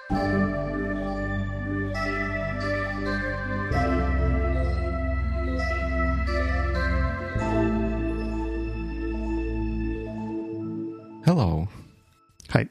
Hello. Hi.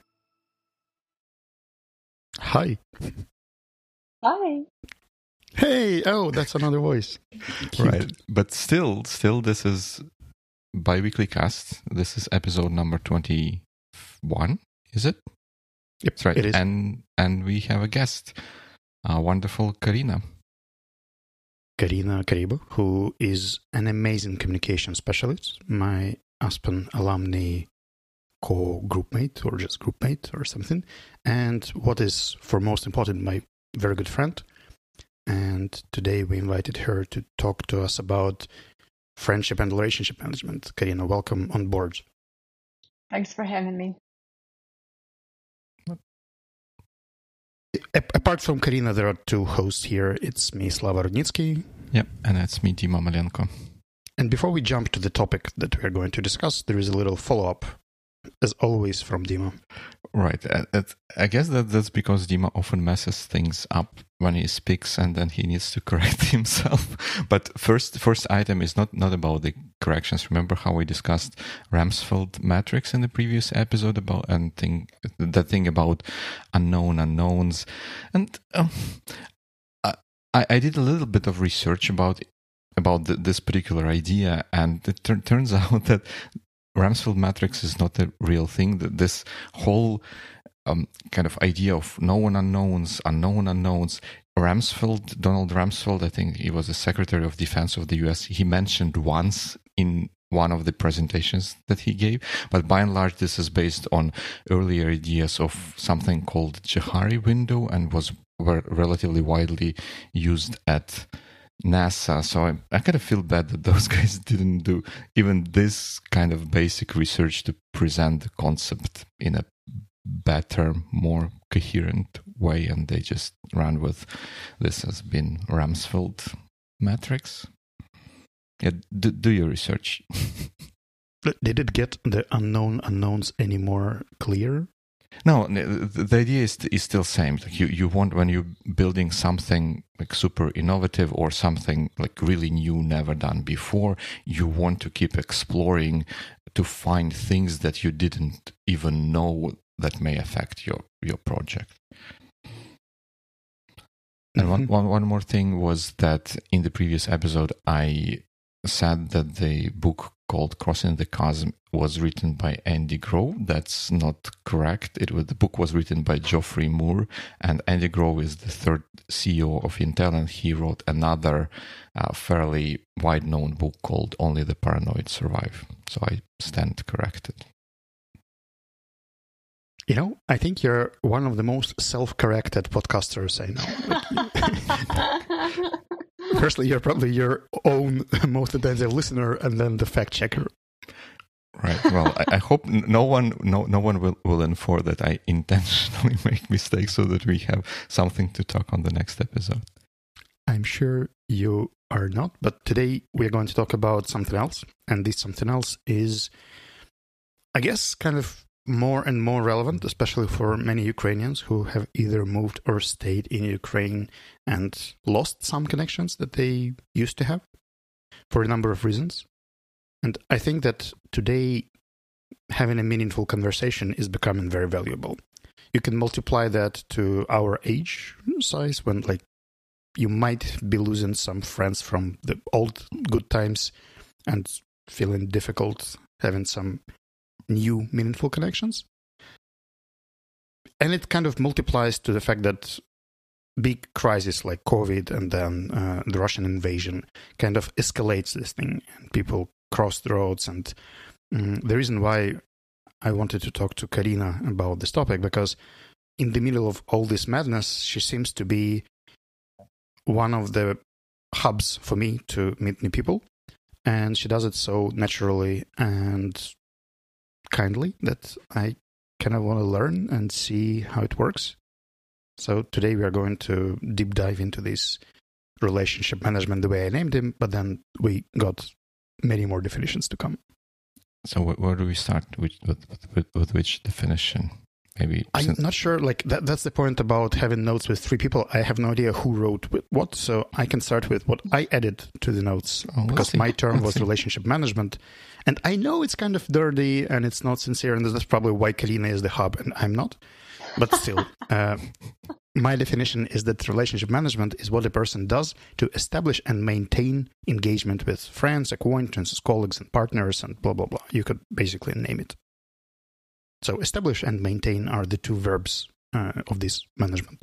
Hi. Hi. Hey, oh, that's another voice. Cute. Right. But still, this is Biweekly Cast. This is episode number 21, is it? Yep, That's right. it is. And we have a guest, wonderful Karina. Karina Karibo, who is an amazing communication specialist, my Aspen alumni co-groupmate or just groupmate or something. And what is, for most important, my very good friend. And today we invited her to talk to us about friendship and relationship management. Karina, welcome on board. Thanks for having me. Apart from Karina, there are two hosts here. It's me, Slava Rudnitsky. Yep, and that's me, Dima Malenko. And before we jump to the topic that we are going to discuss, there is a little follow-up, as always, from Dima. Right. I guess that's because Dima often messes things up when he speaks and then he needs to correct himself. But first item is not about the corrections. Remember how we discussed Ramsfeld matrix in the previous episode about that thing about unknown unknowns. And I did a little bit of research about this particular idea, and it turns out that Ramsfeld matrix is not a real thing. This whole kind of idea of known unknowns, unknown unknowns. Donald Rumsfeld, I think he was the Secretary of Defense of the US, he mentioned once in one of the presentations that he gave. But by and large, this is based on earlier ideas of something called Johari window and were relatively widely used at NASA. So I kind of feel bad that those guys didn't do even this kind of basic research to present the concept in a better, more coherent way, and they just ran with this has been Ramsfeld matrix. Yeah, do your research. Did it get the unknown unknowns any more clear? No, the idea is still same. Like you want, when you're building something like super innovative or something like really new, never done before, you want to keep exploring to find things that you didn't even know that may affect your project. And one more thing was that in the previous episode, I said that the book called Crossing the Chasm was written by Andy Grove. That's not correct. The book was written by Geoffrey Moore, and Andy Grove is the third CEO of Intel, and he wrote another fairly wide-known book called Only the Paranoid Survive. So I stand corrected. You know, I think you're one of the most self-corrected podcasters I know. Firstly, you're probably your own most attentive listener, and then the fact checker. Right. Well, I hope no one will infer that I intentionally make mistakes so that we have something to talk on the next episode. I'm sure you are not, but today we're going to talk about something else, and this something else is, I guess, kind of more and more relevant, especially for many Ukrainians who have either moved or stayed in Ukraine and lost some connections that they used to have for a number of reasons. And I think that today having a meaningful conversation is becoming very valuable. You can multiply that to our age size when you might be losing some friends from the old good times and feeling difficult having some new meaningful connections. And it kind of multiplies to the fact that big crises like COVID and then the Russian invasion kind of escalates this thing, and people cross the roads. And the reason why I wanted to talk to Karina about this topic, because in the middle of all this madness, she seems to be one of the hubs for me to meet new people. And she does it so naturally and kindly that I kind of want to learn and see how it works. So today we are going to deep dive into this relationship management the way I named him, but then we got many more definitions to come. So where do we start? With which definition? maybe. I'm not sure. Like that's the point about having notes with 3 people. I have no idea who wrote what, so I can start with what I added to the notes because my term was relationship management, and I know it's kind of dirty and it's not sincere, and that's probably why Kalina is the hub and I'm not. But still, my definition is that relationship management is what a person does to establish and maintain engagement with friends, acquaintances, colleagues, and partners, and blah blah blah. You could basically name it. So establish and maintain are the 2 verbs of this management.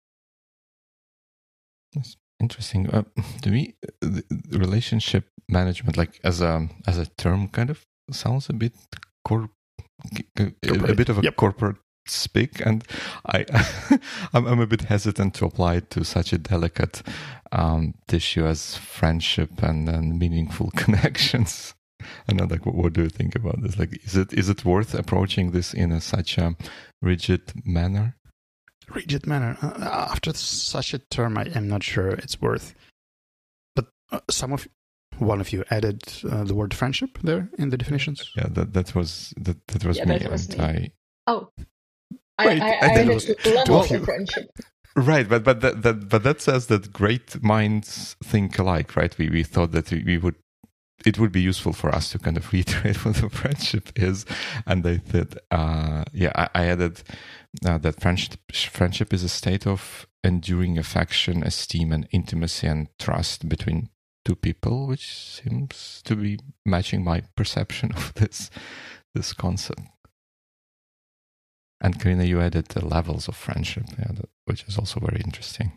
That's interesting. To me, the relationship management, like as a term, kind of sounds a bit a bit of a corporate speak, and I'm a bit hesitant to apply it to such a delicate issue as friendship and meaningful connections. And I'm like, what do you think about this? Like, is it worth approaching this in such a rigid manner? Rigid manner. After such a term, I am not sure it's worth. But one of you added the word friendship there in the definitions. Yeah, that was me. That was me. Right, I added levels of friendship. Right, but that says that great minds think alike, right? We thought that it would be useful for us to kind of reiterate what the friendship is, and I thought, I added that friendship is a state of enduring affection, esteem, and intimacy and trust between 2 people, which seems to be matching my perception of this concept. And Karina, you added the levels of friendship, which is also very interesting.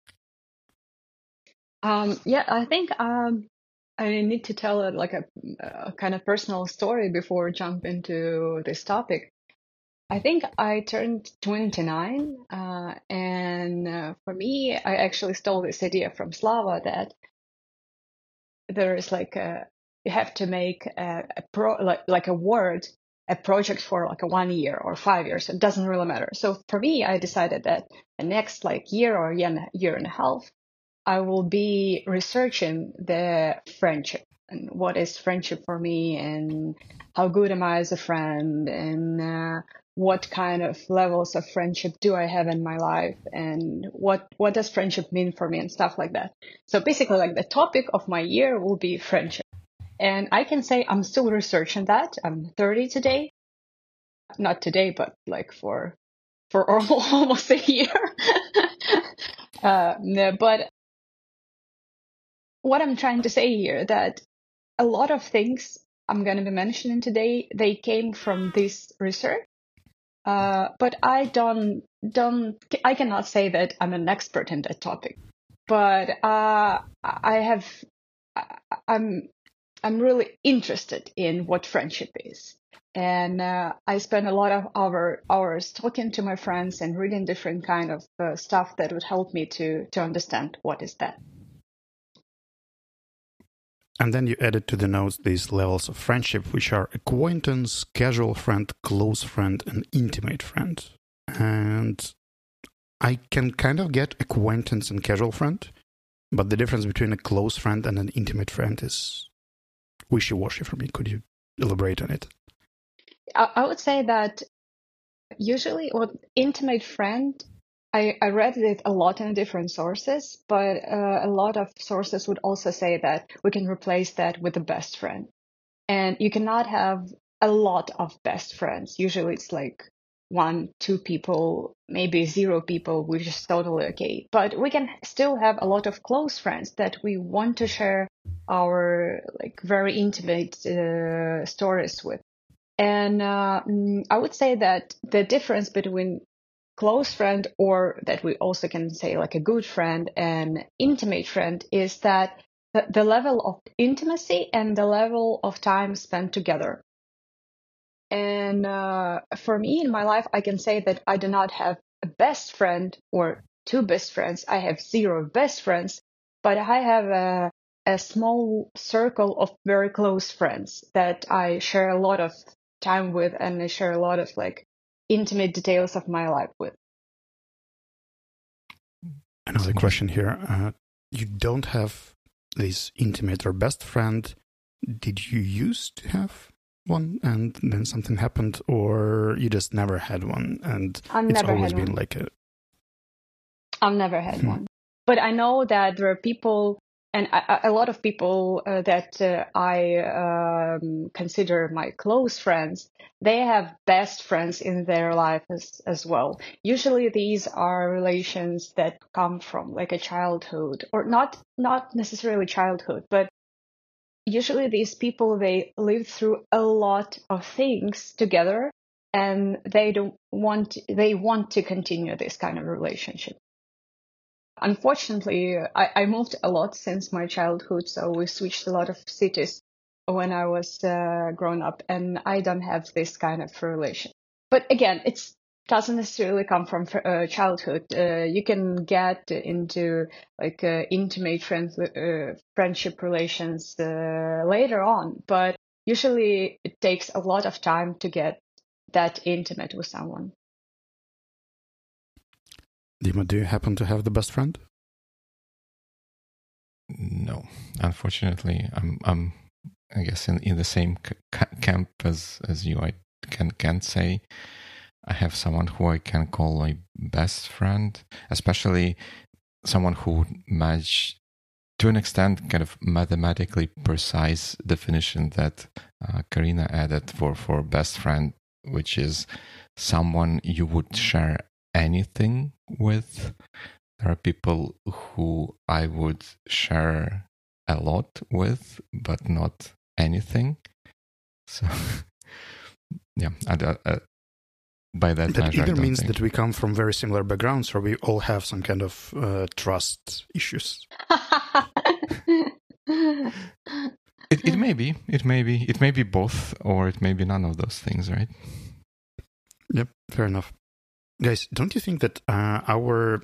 I think I need to tell a kind of personal story before we jump into this topic. I think I turned 29, and for me, I actually stole this idea from Slava that there is you have to make a project for like a 1 year or 5 years. It doesn't really matter. So for me, I decided that the next year or year and a half, I will be researching the friendship and what is friendship for me and how good am I as a friend and what kind of levels of friendship do I have in my life and what does friendship mean for me and stuff like that. So basically the topic of my year will be friendship. And I can say I'm still researching that. I'm 30 today. Not today, but for almost a year. But what I'm trying to say here that a lot of things I'm going to be mentioning today, they came from this research. But I cannot say that I'm an expert in that topic. But I'm really interested in what friendship is. And I spend a lot of hours talking to my friends and reading different kind of stuff that would help me to understand what is that. And then you added to the notes these levels of friendship, which are acquaintance, casual friend, close friend, and intimate friend. And I can kind of get acquaintance and casual friend, but the difference between a close friend and an intimate friend is wishy-washy for me. Could you elaborate on it? I would say that usually what intimate friend, I read it a lot in different sources, but a lot of sources would also say that we can replace that with a best friend. And you cannot have a lot of best friends. Usually it's 1, 2 people, maybe 0 people, which is totally okay. But we can still have a lot of close friends that we want to share our very intimate stories with. And I would say that the difference between close friend, or that we also can say a good friend and intimate friend, is that the level of intimacy and the level of time spent together. And for me in my life, I can say that I do not have a best friend or 2 best friends. I have 0 best friends, but I have a small circle of very close friends that I share a lot of time with, and I share a lot of intimate details of my life with. Another question here. You don't have this intimate or best friend. Did you used to have one and then something happened, or you just never had one and it's always been like a... I've never had one. But I know that there are people, and a lot of people that I consider my close friends, they have best friends in their life as well. Usually these are relations that come from like a childhood, or not necessarily childhood, but usually these people, they live through a lot of things together, and they want to continue this kind of relationship. Unfortunately, I moved a lot since my childhood, so we switched a lot of cities when I was grown up, and I don't have this kind of relation. But again, it doesn't necessarily come from childhood. You can get into like intimate friendship relations later on, but usually it takes a lot of time to get that intimate with someone. Dima, do you happen to have the best friend? No, unfortunately, I'm I guess in the same camp as you. I can't say I have someone who I can call my best friend, especially someone who would match to an extent kind of mathematically precise definition that Karina added for best friend, which is someone you would share anything with. There are people who I would share a lot with, but not anything. So, yeah, by that measure, either means that we come from very similar backgrounds, or we all have some kind of trust issues. It may be. It may be both, or it may be none of those things, right? Yep, fair enough. Guys, don't you think that our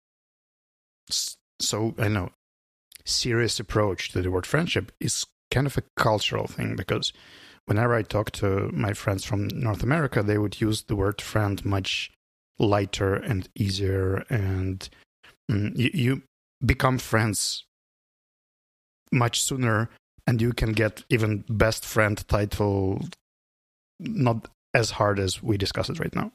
serious approach to the word friendship is kind of a cultural thing? Because whenever I talk to my friends from North America, they would use the word friend much lighter and easier, and you become friends much sooner, and you can get even best friend title not as hard as we discuss it right now.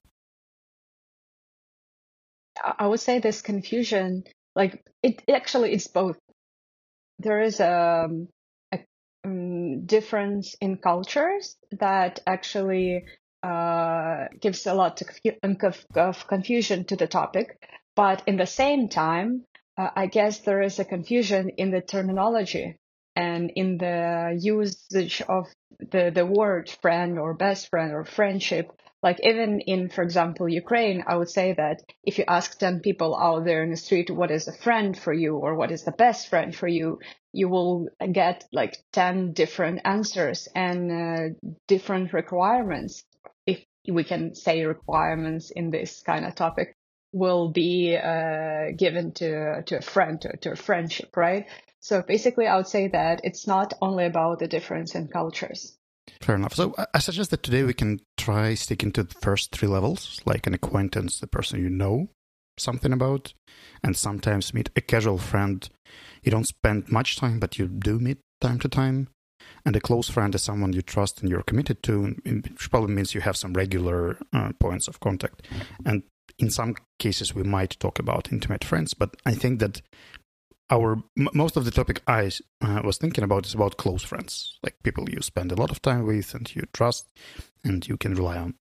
I would say this confusion, like it's both. There is a difference in cultures that actually gives a lot of confusion to the topic. But in the same time, I guess there is a confusion in the terminology and in the usage of the word friend or best friend or friendship. Like even in, for example, Ukraine, I would say that if you ask 10 people out there in the street, what is a friend for you or what is the best friend for you, you will get like 10 different answers and different requirements, if we can say requirements in this kind of topic, will be given to a friend, to a friendship, right? So basically, I would say that it's not only about the difference in cultures. Fair enough. So I suggest that today we can try sticking to the first three levels, like an acquaintance, the person you know something about, and sometimes meet a casual friend you don't spend much time, but you do meet time to time. And a close friend is someone you trust and you're committed to, which probably means you have some regular points of contact. And in some cases, we might talk about intimate friends, but I think that most of the topic I was thinking about is about close friends, like people you spend a lot of time with and you trust and you can rely on.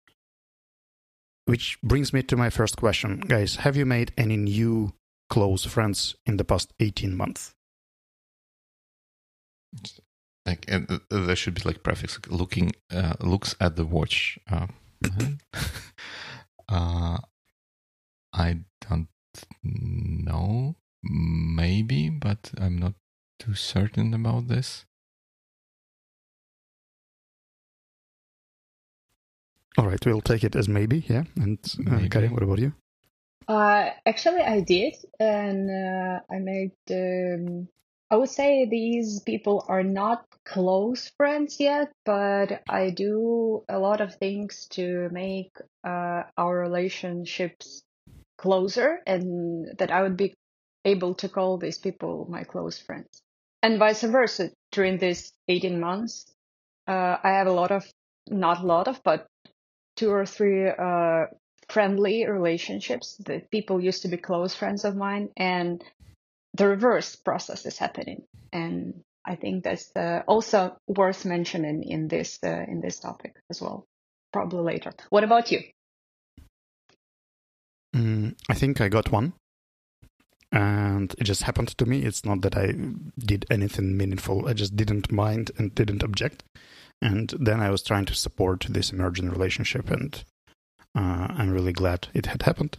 Which brings me to my first question. Guys, have you made any new close friends in the past 18 months? Like there should be like prefix looks at the watch. I don't know. Maybe, but I'm not too certain about this. All right, we'll take it as maybe, yeah. And Karin, what about you? Actually, I did, and I made. I would say these people are not close friends yet, but I do a lot of things to make our relationships closer, and that I would be able to call these people my close friends. And vice versa, during these 18 months, I have not a lot of, but 2 or 3 friendly relationships that people used to be close friends of mine, and the reverse process is happening. And I think that's also worth mentioning in this topic as well, probably later. What about you? I think I got one, and it just happened to me. It's not that I did anything meaningful. I just didn't mind and didn't object. And then I was trying to support this emerging relationship, and I'm really glad it had happened.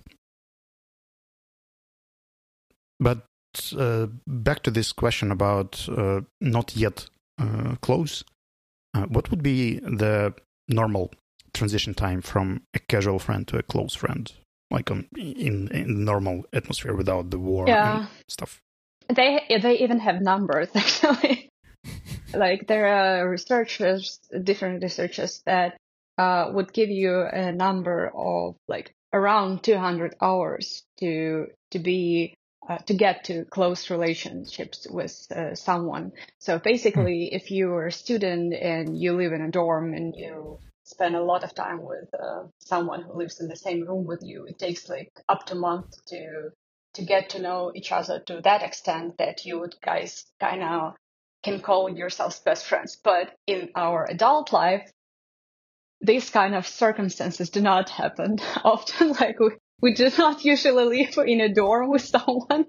But back to this question about not yet close, what would be the normal transition time from a casual friend to a close friend, like in normal atmosphere without the war and stuff? They even have numbers, actually. Like there are different researchers that would give you a number of like around 200 hours to get to close relationships with someone. So basically, if you're a student and you live in a dorm and you spend a lot of time with someone who lives in the same room with you, it takes like up to a month to get to know each other to that extent that you would guys kind of can call yourselves best friends. But in our adult life, these kind of circumstances do not happen often. Like we do not usually live in a dorm with someone.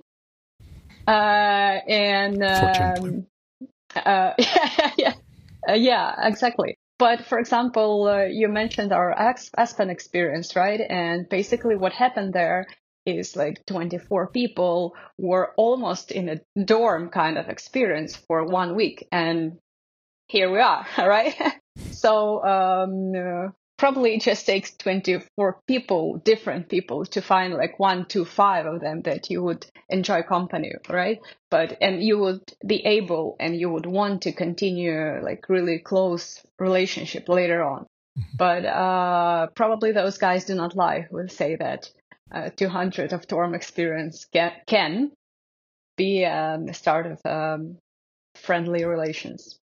Yeah, exactly. But for example, you mentioned our Aspen experience, right? And basically what happened there is like 24 people were almost in a dorm kind of experience for 1 week. And here we are, right? So probably it just takes 24 people, different people, to find like 1 to 5 of them that you would enjoy company, right? And you would be able and you would want to continue like really close relationship later on. But probably those guys do not lie who say that 200 of dorm experience can be the start of friendly relations.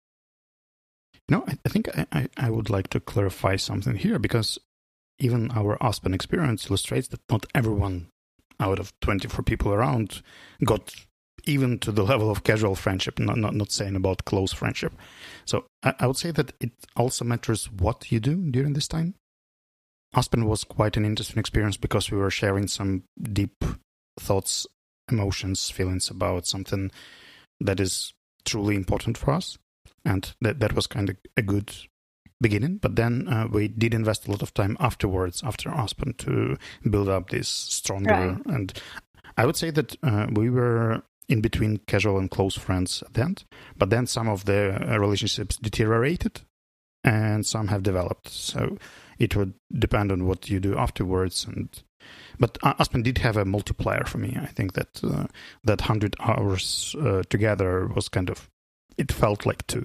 No, I think I would like to clarify something here, because even our Aspen experience illustrates that not everyone out of 24 people around got even to the level of casual friendship, not saying about close friendship. So I would say that it also matters what you do during this time. Aspen was quite an interesting experience because we were sharing some deep thoughts, emotions, feelings about something that is truly important for us. And that was kind of a good beginning. But then we did invest a lot of time afterwards, after Aspen, to build up this stronger. Right. And I would say that we were in between casual and close friends at the end. But then some of the relationships deteriorated and some have developed. So it would depend on what you do afterwards. But Aspen did have a multiplier for me. I think that that 100 hours together was kind of, it felt like 2.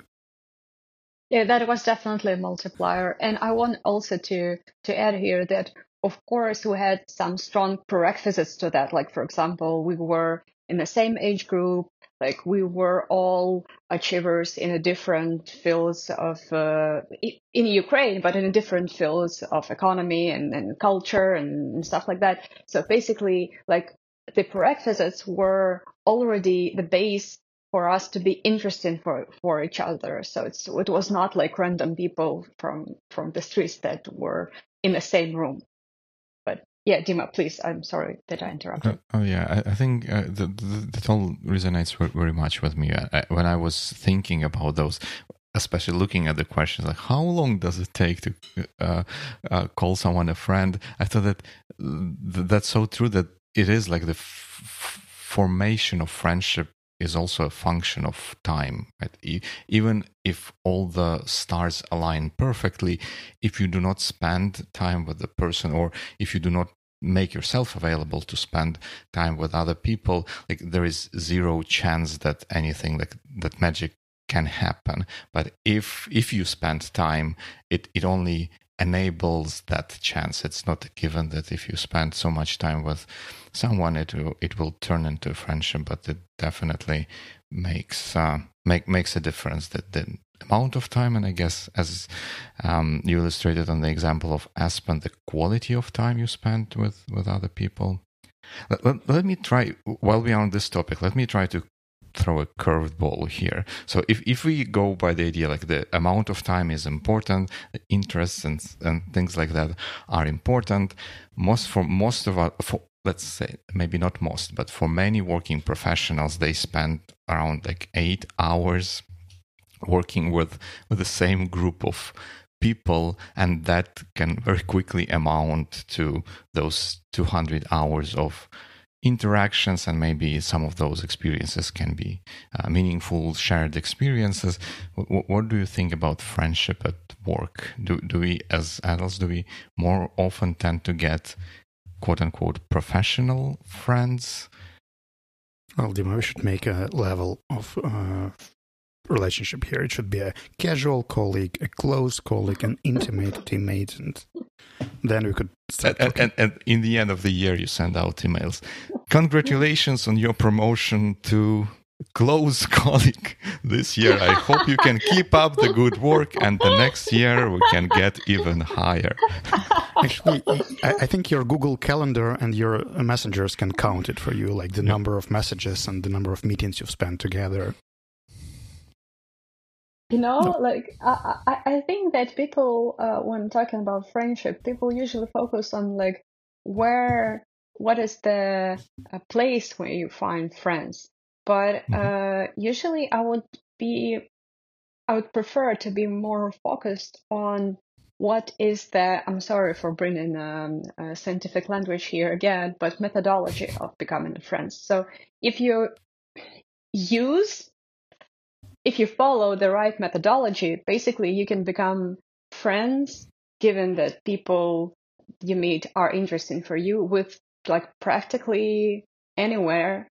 Yeah, that was definitely a multiplier. And I want also to add here that, of course, we had some strong prerequisites to that. Like, for example, we were in the same age group. Like, we were all achievers in a different fields of, in Ukraine, but in different fields of economy and culture and stuff like that. So basically, like, the prerequisites were already the base for us to be interested for each other. So it was not like random people from the streets that were in the same room. But yeah, Dima, please, I'm sorry that I interrupted. I think that all resonates very much with me. When I was thinking about those, especially looking at the questions, like how long does it take to call someone a friend? I thought that that's so true, that it is like the formation of friendship is also a function of time. Right? Even if all the stars align perfectly, if you do not spend time with the person, or if you do not make yourself available to spend time with other people, like there is zero chance that anything like that magic can happen. But if you spend time, it only enables that chance. It's not a given that if you spend so much time with someone, it will turn into a friendship, but it definitely makes a difference. That amount of time, and I guess as you illustrated on the example of Aspen, the quality of time you spent with other people. Let me try, while we are on this topic, let me try to throw a curved ball here. So if we go by the idea like the amount of time is important, the interests and things like that are important, let's say, maybe not most, but for many working professionals, they spend around like 8 hours working with the same group of people, and that can very quickly amount to those 200 hours of interactions, and maybe some of those experiences can be meaningful shared experiences. What do you think about friendship at work? Do we, as adults, more often tend to get quote-unquote professional friends? Well, Dima, we should make a level of relationship here. It should be a casual colleague, a close colleague, an intimate teammate, and then we could start and in the end of the year, you send out emails. Congratulations on your promotion to close colleague this year. I hope you can keep up the good work, and the next year we can get even higher. Actually, I think your Google Calendar and your messengers can count it for you, like the number of messages and the number of meetings you've spent together. Like I think that people, when talking about friendship, people usually focus on like what is the place where you find friends. But usually I would prefer to be more focused on what is I'm sorry for bringing scientific language here again, but methodology of becoming friends. So if you follow the right methodology, basically you can become friends, given that people you meet are interesting for you, with like practically anywhere.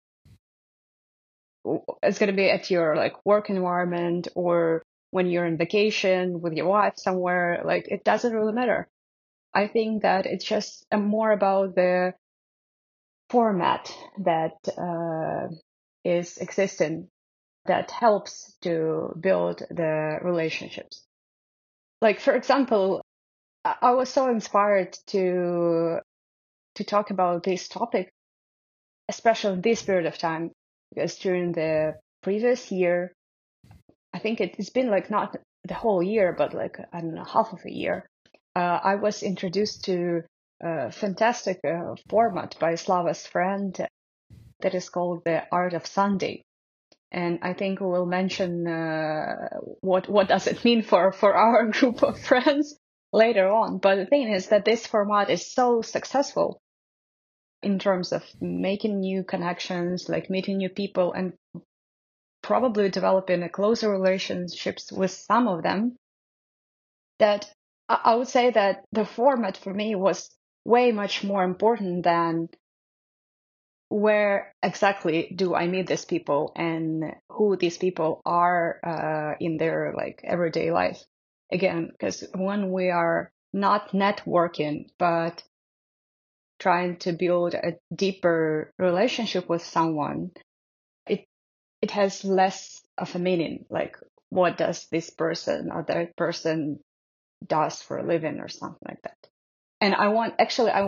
It's going to be at your like work environment, or when you're on vacation with your wife somewhere. Like, it doesn't really matter. I think that it's just more about the format that is existing, that helps to build the relationships. Like, for example, I was so inspired to talk about this topic, especially in this period of time, because during the previous year, I think it's been like not the whole year, but like, I don't know, half of a year, I was introduced to a fantastic format by Slava's friend that is called The Art of Sunday. And I think we'll mention what does it mean for our group of friends later on. But the thing is that this format is so successful in terms of making new connections, like meeting new people, and probably developing a closer relationships with some of them, that I would say that the format for me was way much more important than where exactly do I meet these people and who these people are in their like everyday life. Again, because when we are not networking, but trying to build a deeper relationship with someone, it has less of a meaning. Like, what does this person or that person does for a living or something like that. And I wanted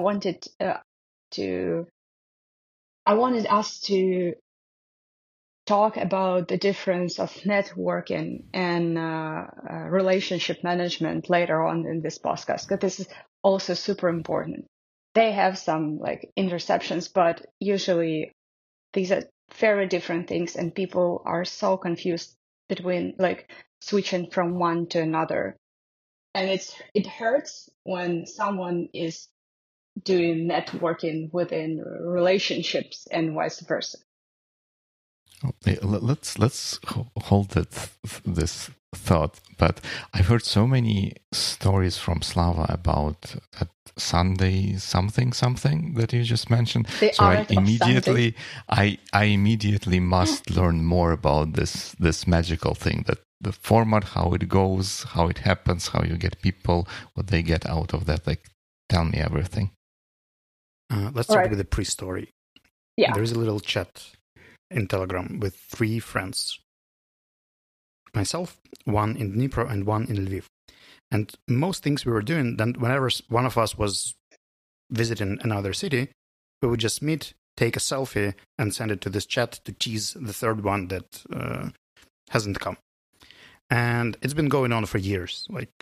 us to talk about the difference of networking and relationship management later on in this podcast, because this is also super important. They have some like interceptions, but usually these are very different things, and people are so confused between like switching from one to another. And it hurts when someone is doing networking within relationships and vice versa. Okay, let's hold this thought. But I've heard so many stories from Slava about that Sunday something that you just mentioned. So I immediately must learn more about this magical thing, that the format, how it goes, how it happens, how you get people, what they get out of that. Like, tell me everything. Let's start with the pre-story. Yeah. There's a little chat in Telegram with 3 friends. myself, one in Dnipro and one in Lviv. And most things we were doing, then whenever one of us was visiting another city, we would just meet, take a selfie, and send it to this chat to tease the third one that hasn't come. And it's been going on for years. Like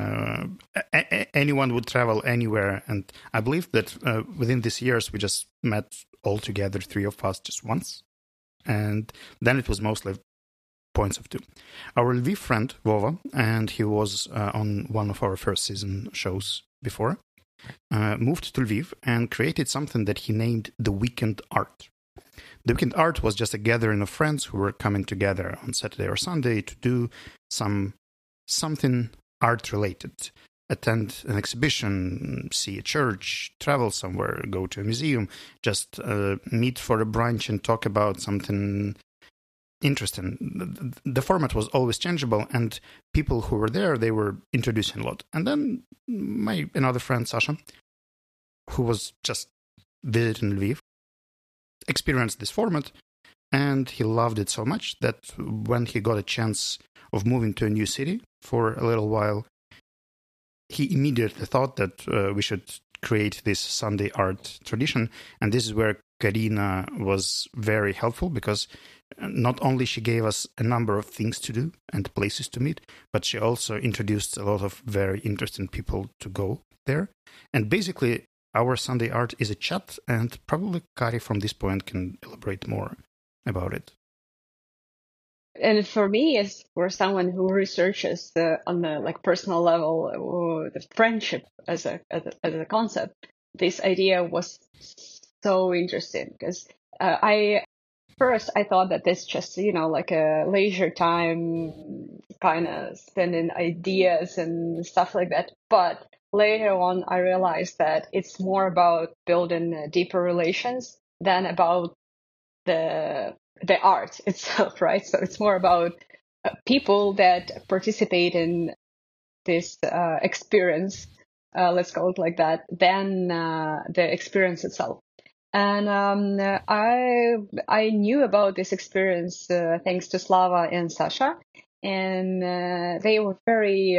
anyone would travel anywhere, and I believe that within these years we just met all together, three of us, just once, and then it was mostly points of two. Our Lviv friend Vova, and he was on one of our first season shows before, moved to Lviv and created something that he named the Weekend Art. The Weekend Art was just a gathering of friends who were coming together on Saturday or Sunday to do something art related. Attend an exhibition, see a church, travel somewhere, go to a museum, just meet for a brunch and talk about something interesting. The format was always changeable, and people who were there, they were introducing a lot. And then another friend, Sasha, who was just visiting Lviv, experienced this format, and he loved it so much that when he got a chance of moving to a new city for a little while, he immediately thought that we should create this Sunday art tradition. And this is where Karina was very helpful, because not only she gave us a number of things to do and places to meet, but she also introduced a lot of very interesting people to go there. And basically, our Sunday art is a chat, and probably Kari from this point can elaborate more about it. And for me, as for someone who researches on the like personal level, the friendship as a concept, this idea was so interesting, because I thought that this just, like a leisure time kind of spending ideas and stuff like that. But later on, I realized that it's more about building deeper relations than about the art itself, right? So it's more about people that participate in this experience, let's call it like that, than the experience itself. And I knew about this experience thanks to Slava and Sasha, and they were very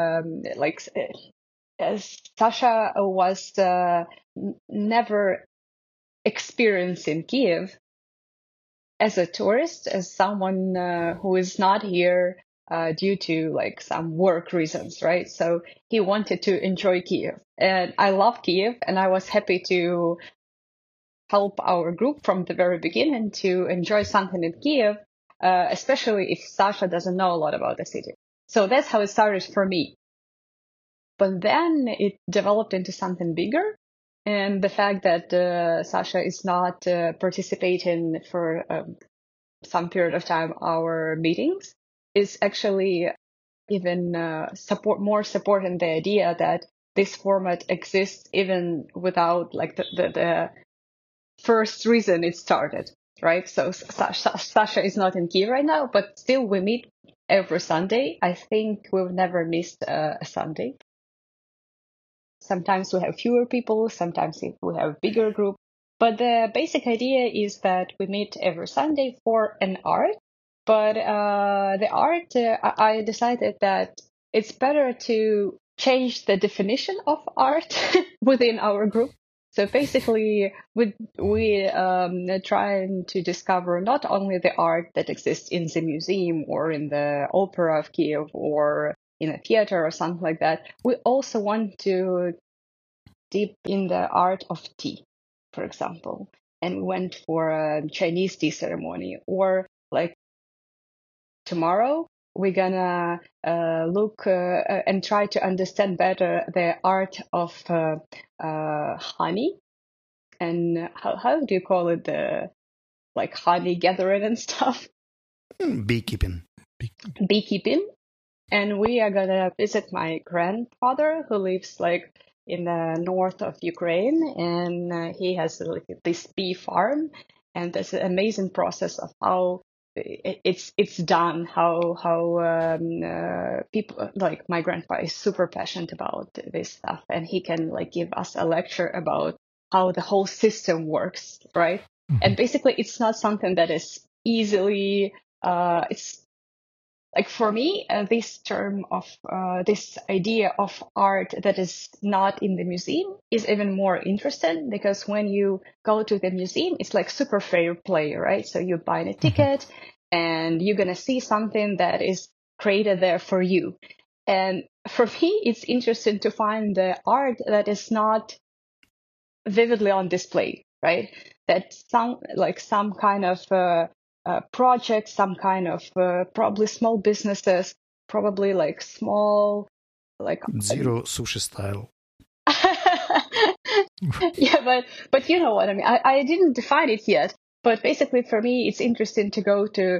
Sasha was never experiencing Kiev as a tourist, as someone who is not here due to like some work reasons, right? So he wanted to enjoy Kiev, and I love Kiev, and I was happy to help our group from the very beginning to enjoy something in Kiev, especially if Sasha doesn't know a lot about the city. So that's how it started for me. But then it developed into something bigger. And the fact that Sasha is not participating for some period of time our meetings is actually even more supporting the idea that this format exists even without like the first reason it started, right? So Sasha is not in Kiev right now, but still we meet every Sunday. I think we've never missed a Sunday. Sometimes we have fewer people, sometimes we have a bigger group. But the basic idea is that we meet every Sunday for an art. But the art, I decided that it's better to change the definition of art within our group. So basically, we trying to discover not only the art that exists in the museum or in the opera of Kiev or in a theater or something like that. We also want to deep in the art of tea, for example, and we went for a Chinese tea ceremony. Or like tomorrow, we're gonna look and try to understand better the art of honey, and how do you call it, the like honey gathering and stuff? Beekeeping. And we are gonna visit my grandfather who lives like in the north of Ukraine, and he has like this bee farm, and there's an amazing process of how it's done, how people like my grandpa is super passionate about this stuff, and he can like give us a lecture about how the whole system works, right? Mm-hmm. And basically it's not something that is easily like for me, this term of this idea of art that is not in the museum is even more interesting, because when you go to the museum, it's like super fair play, right? So you buy a ticket and you're going to see something that is created there for you. And for me, it's interesting to find the art that is not vividly on display, right? That some kind of project, some kind of probably small businesses, probably like small, like Zero sushi style. Yeah, but you know what I mean. I didn't define it yet, but basically for me, it's interesting to go to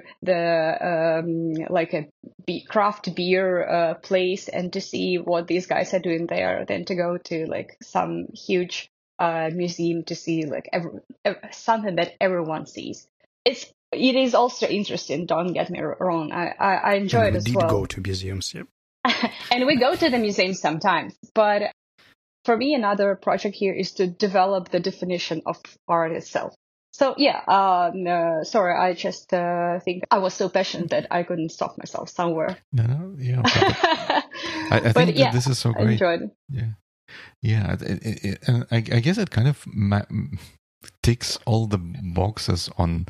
the like a craft beer place and to see what these guys are doing there, than to go to like some huge museum to see like something that everyone sees. It is also interesting. Don't get me wrong. I enjoy it as well. We did go to museums, yeah. And we go to the museum sometimes, but for me, another project here is to develop the definition of art itself. So yeah, sorry, I just think I was so passionate that I couldn't stop myself somewhere. No, yeah. I think that this is so great. I enjoyed it. Yeah. And I guess it kind of ticks all the boxes on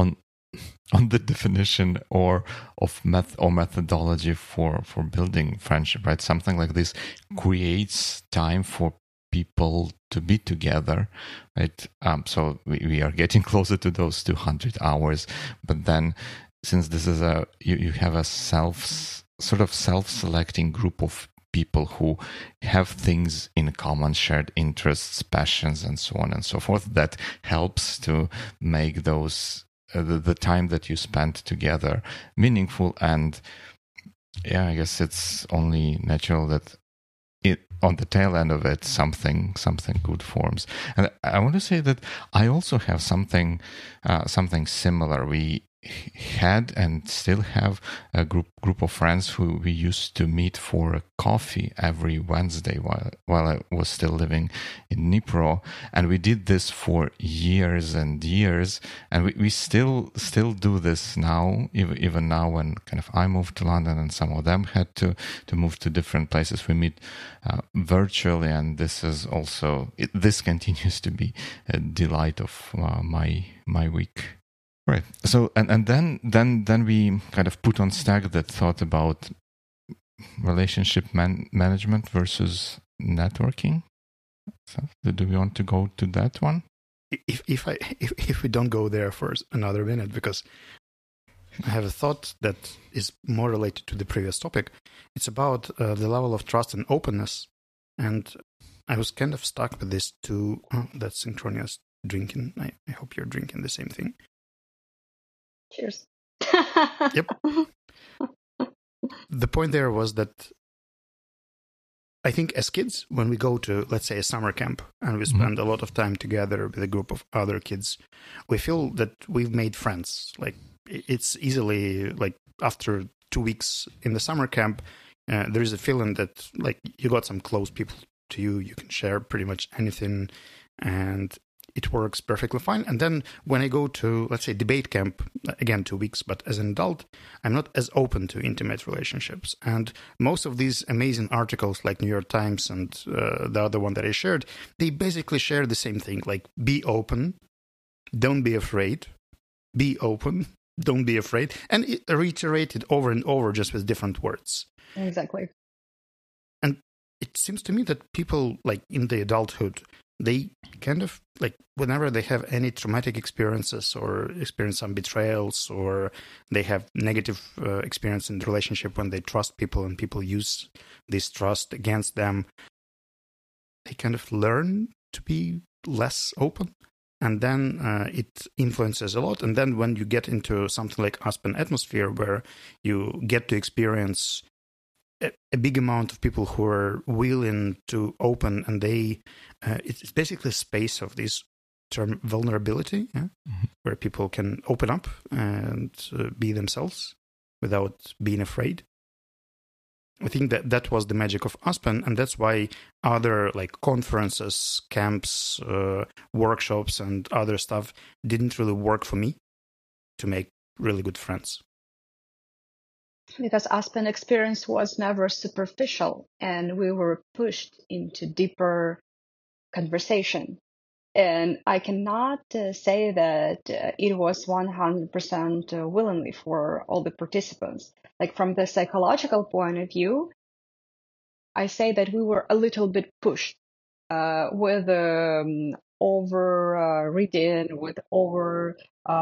the definition or methodology for building friendship, right? Something like this creates time for people to be together, right? So we are getting closer to those 200 hours, but then since this is you have a self-selecting group of people who have things in common, shared interests, passions, and so on and so forth, that helps to make those the time that you spend together meaningful. And yeah, I guess it's only natural that on the tail end of it, something good forms. And I want to say that I also have something similar. We had and still have a group of friends who we used to meet for a coffee every Wednesday while I was still living in Dnipro, and we did this for years and years, and we still do this now, even now when kind of I moved to London and some of them had to move to different places. We meet virtually, and this is also this continues to be a delight of my week. Right. So and then we kind of put on stack that thought about relationship management versus networking. So do we want to go to that one? If we don't go there for another minute, because I have a thought that is more related to the previous topic. It's about the level of trust and openness, and I was kind of stuck with this too. Oh, that's synchronous drinking. I hope you're drinking the same thing. Cheers. Yep. The point there was that I think as kids, when we go to, let's say, a summer camp and we spend a lot of time together with a group of other kids, we feel that we've made friends. Like, it's easily, like, after 2 weeks in the summer camp, there is a feeling that, like, you got some close people to you. You can share pretty much anything, and it works perfectly fine. And then when I go to, let's say, debate camp, again, 2 weeks, but as an adult, I'm not as open to intimate relationships. And most of these amazing articles like New York Times and the other one that I shared, they basically share the same thing, like be open, don't be afraid, be open, don't be afraid, and it reiterated over and over just with different words. Exactly. And it seems to me that people, like in the adulthood, they kind of, like, whenever they have any traumatic experiences or experience some betrayals, or they have negative experience in the relationship when they trust people and people use this trust against them, they kind of learn to be less open. And then it influences a lot. And then when you get into something like Aspen Atmosphere, where you get to experience a big amount of people who are willing to open, and it's basically a space of this term vulnerability, where people can open up and be themselves without being afraid. I think that was the magic of Aspen, and that's why other, like, conferences, camps, workshops, and other stuff didn't really work for me to make really good friends. because Aspen experience was never superficial, and we were pushed into deeper conversation. And I cannot say that it was 100% willingly for all the participants. Like from the psychological point of view, I say that we were a little bit pushed with over reading, with over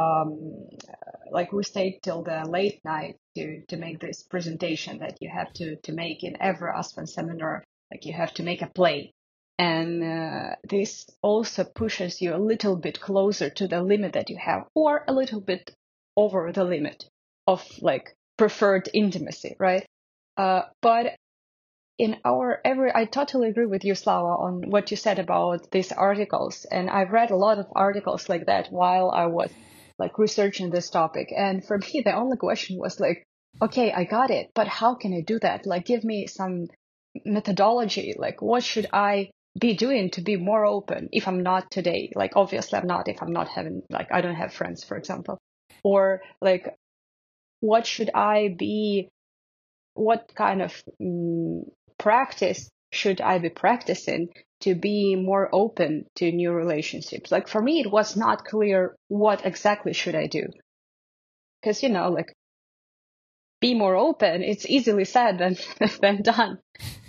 like we stayed till the late night to make this presentation that you have to make in every Aspen seminar. Like you have to make a play. And this also pushes you a little bit closer to the limit that you have, or a little bit over the limit of like preferred intimacy, right? But in I totally agree with you, Slava, on what you said about these articles. And I've read a lot of articles like that while I was like researching this topic. And for me, the only question was like, okay, I got it, but how can I do that? Like, give me some methodology. Like, what should I be doing to be more open if I'm not today? Like, obviously I'm not, if I'm not having, like, I don't have friends, for example. Or like, what should I be, what kind of practice should I be practicing to be more open to new relationships? Like for me, it was not clear what exactly should I do. Because, you know, like be more open, it's easily said than done.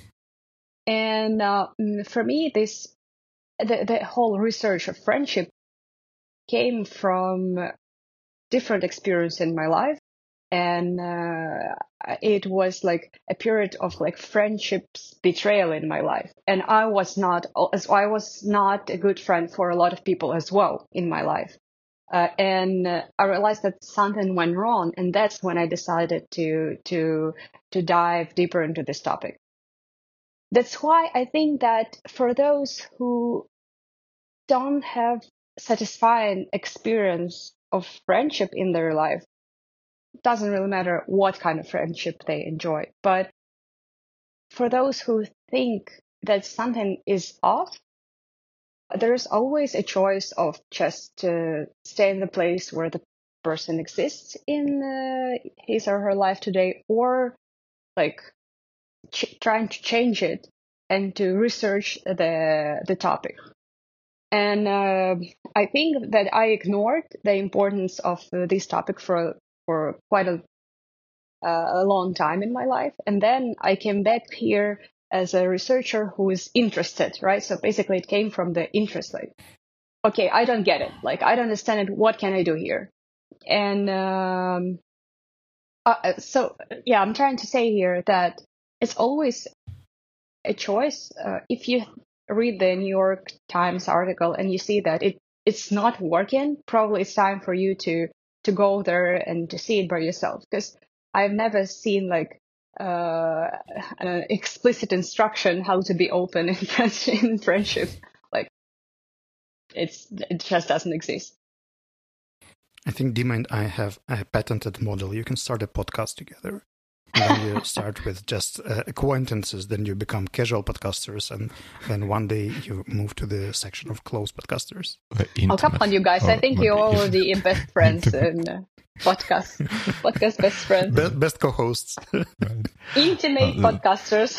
And for me, the whole research of friendship came from different experience in my life. And it was like a period of like friendships betrayal in my life. And I was not a good friend for a lot of people as well in my life. And I realized that something went wrong. And that's when I decided to dive deeper into this topic. That's why I think that for those who don't have satisfying experience of friendship in their life, it doesn't really matter what kind of friendship they enjoy. But for those who think that something is off, there's always a choice of just stay in the place where the person exists in his or her life today, or like trying to change it and to research the topic. And I think that I ignored the importance of this topic for quite a long time in my life. And then I came back here as a researcher who is interested, right? So basically it came from the interest, like, okay, I don't get it. Like, I don't understand it. What can I do here? And so, yeah, I'm trying to say here that it's always a choice. If you read the New York Times article and you see that it's not working, probably it's time for you to go there and to see it by yourself. Because I've never seen like an explicit instruction how to be open in friendship. Like it just doesn't exist. I think Dima and I have a patented model. You can start a podcast together. And then you start with just acquaintances, then you become casual podcasters, and then one day you move to the section of close podcasters. Oh, come on, you guys. I think you're already best friends in podcast best friends. Best co-hosts. Right. Intimate podcasters.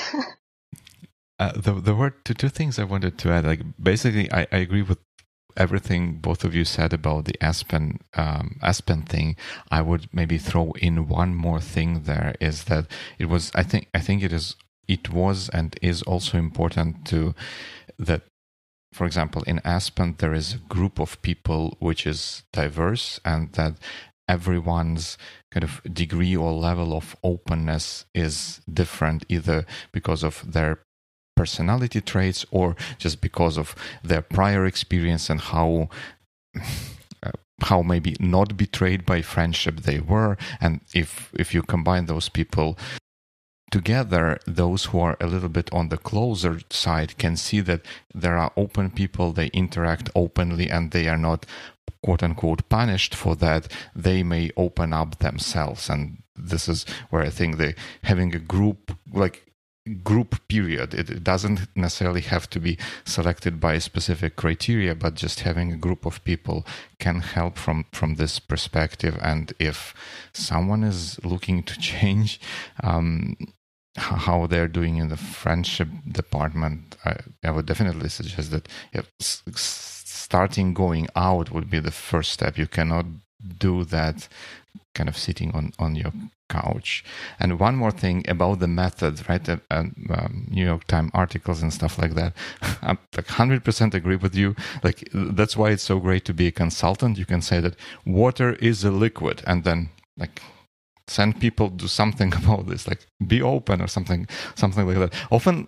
There were two things I wanted to add. Like, basically, I agree with everything both of you said about the Aspen thing. I would maybe throw in one more thing there, is that it was, I think it was and is also important to that, for example, in Aspen there is a group of people which is diverse, and that everyone's kind of degree or level of openness is different, either because of their personality traits or just because of their prior experience and how maybe not betrayed by friendship they were. And if you combine those people together, those who are a little bit on the closer side can see that there are open people, they interact openly, and they are not quote unquote punished for that. They may open up themselves. And this is where I think having a group, like group period. It doesn't necessarily have to be selected by a specific criteria, but just having a group of people can help from this perspective. And if someone is looking to change how they're doing in the friendship department, I would definitely suggest that starting going out would be the first step. You cannot do that kind of sitting on your couch. And one more thing about the method, right? New York Times articles and stuff like that. I 100% agree with you. Like, that's why it's so great to be a consultant. You can say that water is a liquid, and then like send people do something about this, like be open or something like that. Often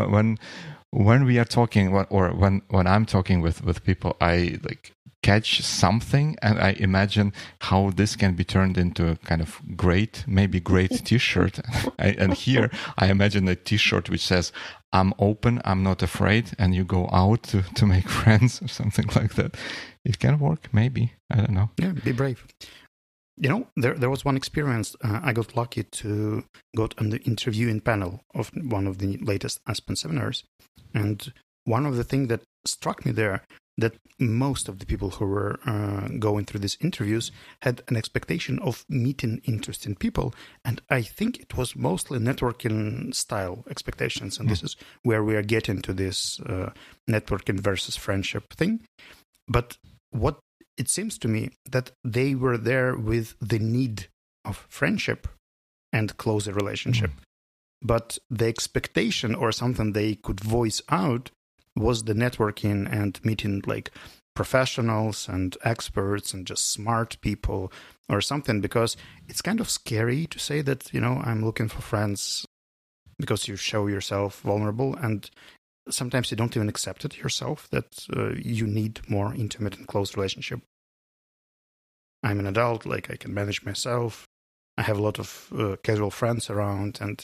when we are talking, or when I'm talking with people, I like catch something and I imagine how this can be turned into a kind of great t-shirt. And here I imagine a t-shirt which says, "I'm open, I'm not afraid," and you go out to make friends or something like that. It can work, maybe. I don't know. Yeah, be brave. You know, there was one experience. I got lucky to go on the interviewing panel of one of the latest Aspen seminars. And one of the things that struck me there, that most of the people who were going through these interviews had an expectation of meeting interesting people. And I think it was mostly networking style expectations. And this is where we are getting to this networking versus friendship thing. But what it seems to me that they were there with the need of friendship and closer relationship. But the expectation or something they could voice out was the networking and meeting like professionals and experts and just smart people or something, because it's kind of scary to say that, you know, I'm looking for friends because you show yourself vulnerable, and sometimes you don't even accept it yourself that you need more intimate and close relationship. I'm an adult, like I can manage myself. I have a lot of casual friends around, and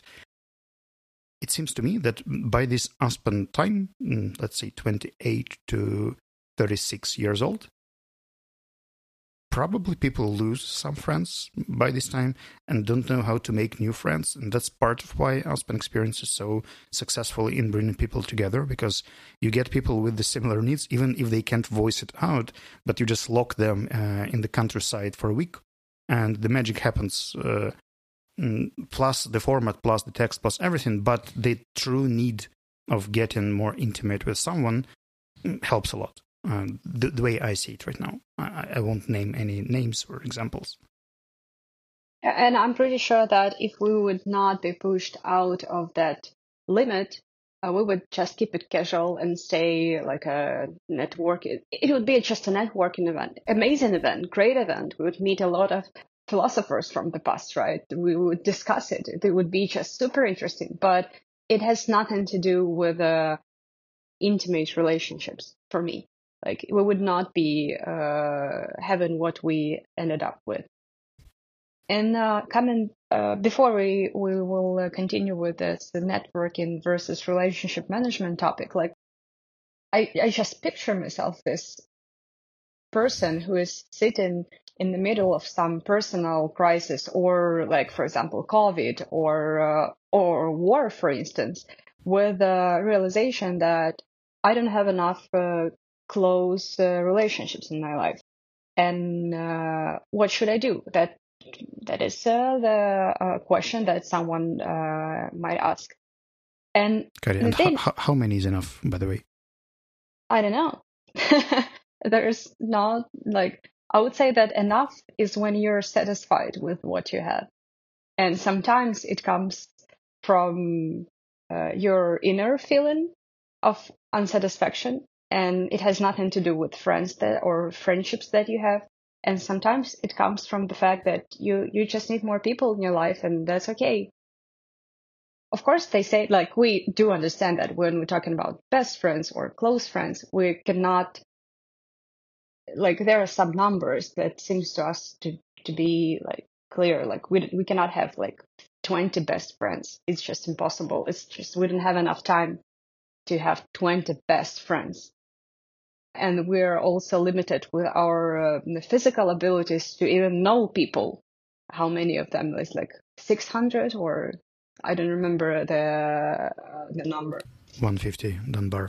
it seems to me that by this Aspen time, let's say 28 to 36 years old, probably people lose some friends by this time and don't know how to make new friends. And that's part of why Aspen Experience is so successful in bringing people together, because you get people with the similar needs, even if they can't voice it out, but you just lock them in the countryside for a week and the magic happens. Plus the format, plus the text, plus everything, but the true need of getting more intimate with someone helps a lot. The way I see it right now. I won't name any names or examples. And I'm pretty sure that if we would not be pushed out of that limit, we would just keep it casual and stay like a network. It would be just a networking event, amazing event, great event. We would meet a lot of philosophers from the past, right? We would discuss it. It would be just super interesting, but it has nothing to do with intimate relationships for me. Like, we would not be having what we ended up with. And before we will continue with this, the networking versus relationship management topic, like I just picture myself this person who is sitting in the middle of some personal crisis, or like, for example, COVID or war, for instance, with the realization that I don't have enough close relationships in my life. And what should I do? That is the question that someone might ask. And how many is enough, by the way? I don't know. There's not, like, I would say that enough is when you're satisfied with what you have. And sometimes it comes from your inner feeling of unsatisfaction, and it has nothing to do with friends or friendships that you have. And sometimes it comes from the fact that you just need more people in your life, and that's okay. Of course, they say, like, we do understand that when we're talking about best friends or close friends, we cannot, like, there are some numbers that seems to us to be like clear. Like, we cannot have like 20 best friends. It's just impossible. It's just, we don't have enough time to have 20 best friends. And we're also limited with our physical abilities to even know people. How many of them is like 600 or I don't remember the number. 150 Dunbar.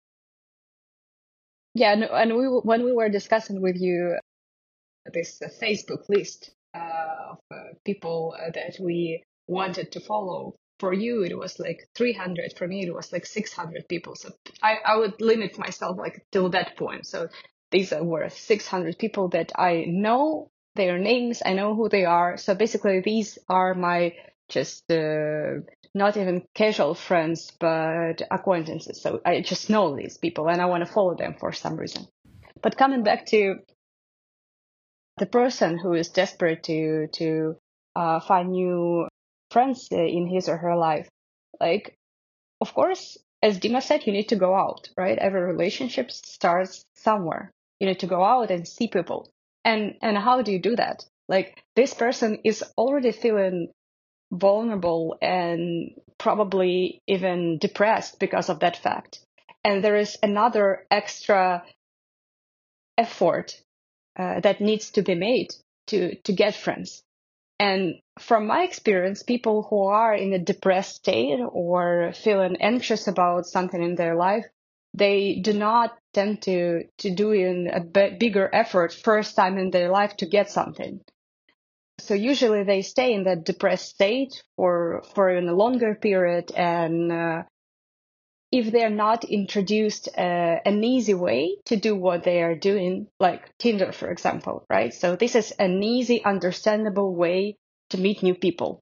Yeah, and when we were discussing with you this Facebook list of people that we wanted to follow, for you it was like 300. For me it was like 600 people. So I would limit myself like till that point. So these were 600 people that I know their names, I know who they are. So basically these are my just not even casual friends, but acquaintances. So I just know these people and I want to follow them for some reason. But coming back to the person who is desperate to find new friends in his or her life, like, of course, as Dima said, you need to go out, right? Every relationship starts somewhere. You need to go out and see people. And how do you do that? Like, this person is already feeling vulnerable and probably even depressed because of that fact. And there is another extra effort that needs to be made to get friends. And from my experience, people who are in a depressed state or feeling anxious about something in their life, they do not tend to do in a bigger effort first time in their life to get something. So usually they stay in that depressed state for a longer period, and if they're not introduced an easy way to do what they are doing, like Tinder, for example, right? So this is an easy, understandable way to meet new people.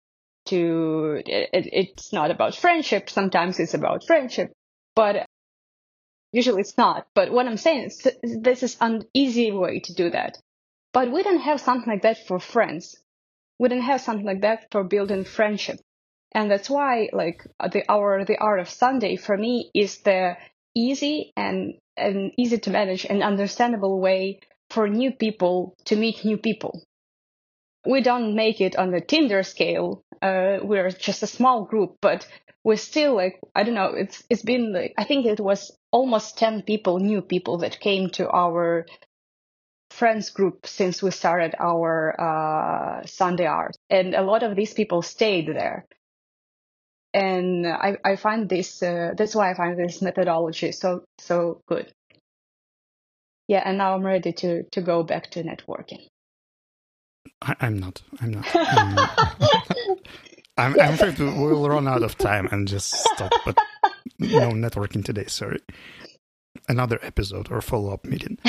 It's not about friendship. Sometimes it's about friendship, but usually it's not. But what I'm saying is this is an easy way to do that. But we don't have something like that for friends. We don't have something like that for building friendship. And that's why, like, the Art of Sunday for me is the easy and easy to manage and understandable way for new people to meet new people. We don't make it on the Tinder scale. We're just a small group, but we're still like, I don't know. It's been like, I think it was almost 10 people, new people that came to our friends group since we started our Sunday Art, and a lot of these people stayed there. And I find this, that's why I find this methodology so good. Yeah, and now I'm ready to go back to networking. I'm not. I'm afraid we'll run out of time and just stop, but no networking today, sorry. Another episode or follow-up meeting.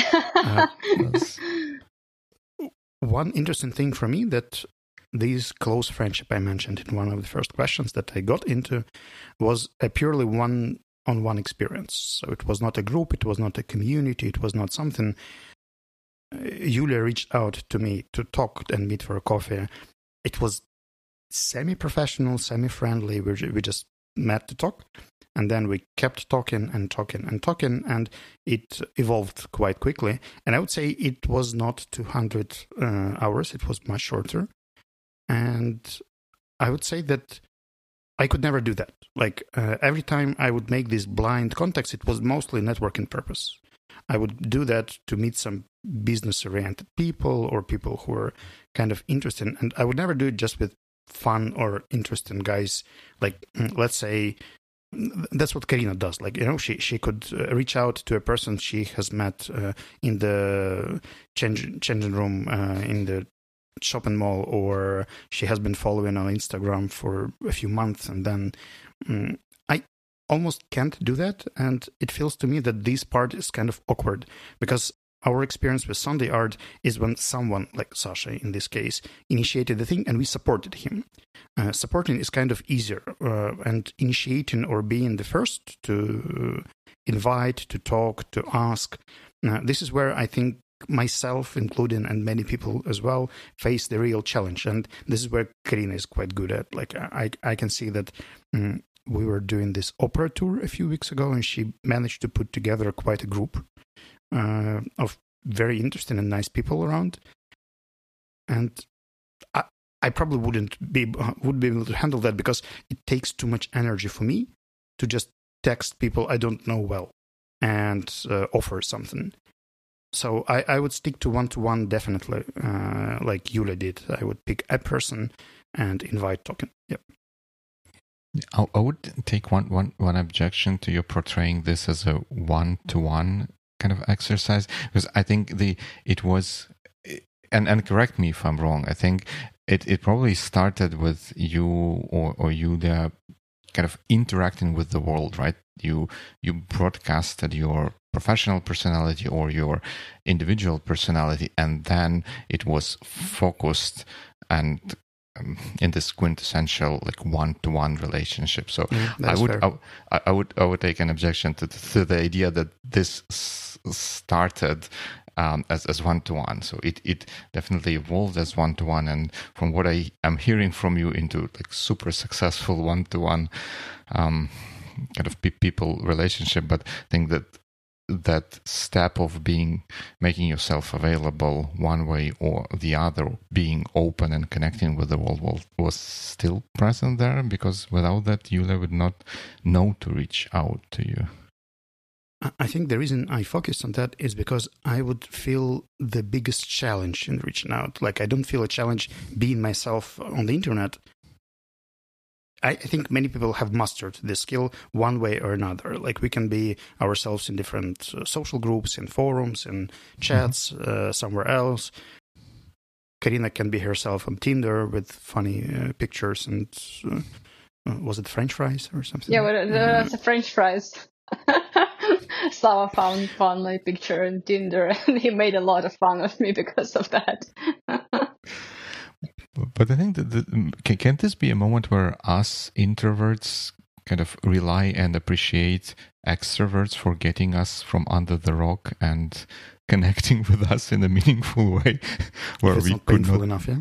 One interesting thing for me that this close friendship I mentioned in one of the first questions that I got into was a purely one-on-one experience. So it was not a group, it was not a community, it was not something. Yulia reached out to me to talk and meet for a coffee. It was semi-professional, semi-friendly. We just met to talk. And then we kept talking, and it evolved quite quickly. And I would say it was not 200 hours, it was much shorter. And I would say that I could never do that. Like, every time I would make these blind contacts, it was mostly networking purpose. I would do that to meet some business-oriented people or people who are kind of interested. And I would never do it just with fun or interesting guys. Like, let's say, that's what Karina does. Like, you know, she could reach out to a person she has met in the changing room in the shopping mall, or she has been following on Instagram for a few months, and then I almost can't do that. And it feels to me that this part is kind of awkward, because our experience with Sunday Art is when someone, like Sasha in this case, initiated the thing and we supported him. Supporting is kind of easier, and initiating or being the first to invite, to talk, to ask, this is where I think myself, including, and many people as well, face the real challenge. And this is where Karina is quite good at. Like, I can see that we were doing this opera tour a few weeks ago, and she managed to put together quite a group of very interesting and nice people around. And I probably would be able to handle that, because it takes too much energy for me to just text people I don't know well and offer something. So I would stick to one-to-one, definitely, like Yulia did. I would pick a person and invite talking. Yep. I would take one objection to you portraying this as a one-to-one kind of exercise, because I think it was, and correct me if I'm wrong, I think it probably started with you or you there kind of interacting with the world, right? You broadcasted your professional personality or your individual personality, and then it was focused and in this quintessential like one-to-one relationship. So I would take an objection to the idea that this started as one-to-one. So it definitely evolved as one-to-one, and from what I am hearing from you, into like super successful one-to-one kind of people relationship. But I think that step of making yourself available one way or the other, being open and connecting with the world was still present there, because without that, Yulia would not know to reach out to you. I think the reason I focused on that is because I would feel the biggest challenge in reaching out. Like, I don't feel a challenge being myself on the internet. I think many people have mastered this skill one way or another. Like, we can be ourselves in different social groups, in forums, in chats, somewhere else. Karina can be herself on Tinder with funny pictures and was it French fries or something? Yeah, well, the French fries. Slava found my picture on Tinder, and he made a lot of fun of me because of that. But I think that can't this be a moment where us introverts kind of rely and appreciate extroverts for getting us from under the rock and connecting with us in a meaningful way, where we not could painful not enough,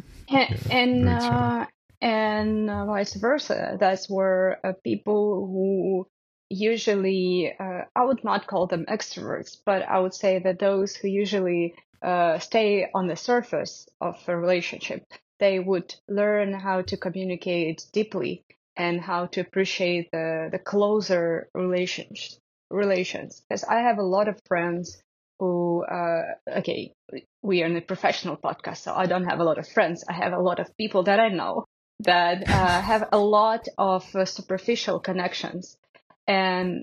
and vice versa. That's where people who usually, I would not call them extroverts, but I would say that those who usually stay on the surface of a relationship, they would learn how to communicate deeply and how to appreciate the closer relations. Because I have a lot of friends who, okay, we are in a professional podcast, so I don't have a lot of friends. I have a lot of people that I know that have a lot of superficial connections. And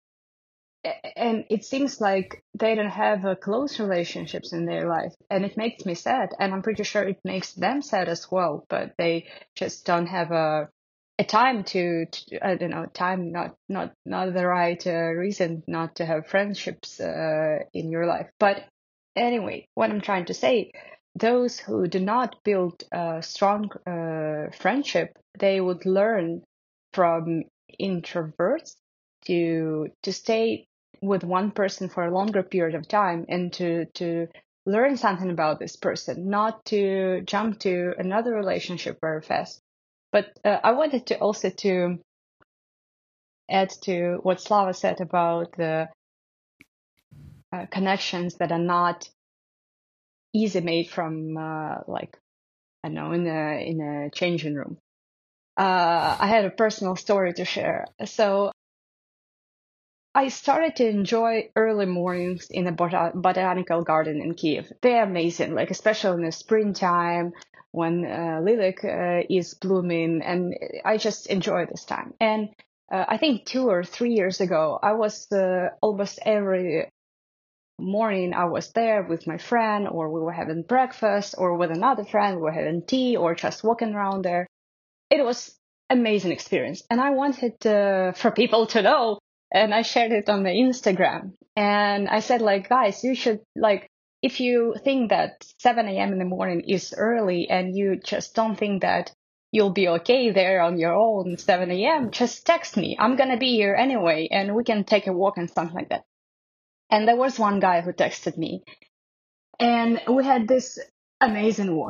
it seems like they don't have close relationships in their life, and it makes me sad, and I'm pretty sure it makes them sad as well, but they just don't have a time to I don't know, time, not the right reason not to have friendships in your life. But anyway, what I'm trying to say, those who do not build a strong friendship, they would learn from introverts to stay with one person for a longer period of time and to learn something about this person, not to jump to another relationship very fast. But I wanted to also to add to what Slava said about the connections that are not easy made from like, I don't know, in a changing room. I had a personal story to share. So I started to enjoy early mornings in a botanical garden in Kiev. They're amazing, like especially in the springtime when lilac is blooming, and I just enjoy this time. And I think 2 or 3 years ago, I was almost every morning I was there with my friend, or we were having breakfast, or with another friend, we were having tea, or just walking around there. It was amazing experience, and I wanted for people to know. And I shared it on the Instagram. And I said, like, guys, you should, like, if you think that 7 a.m. in the morning is early and you just don't think that you'll be okay there on your own 7 a.m., just text me. I'm going to be here anyway, and we can take a walk and something like that. And there was one guy who texted me. And we had this amazing walk.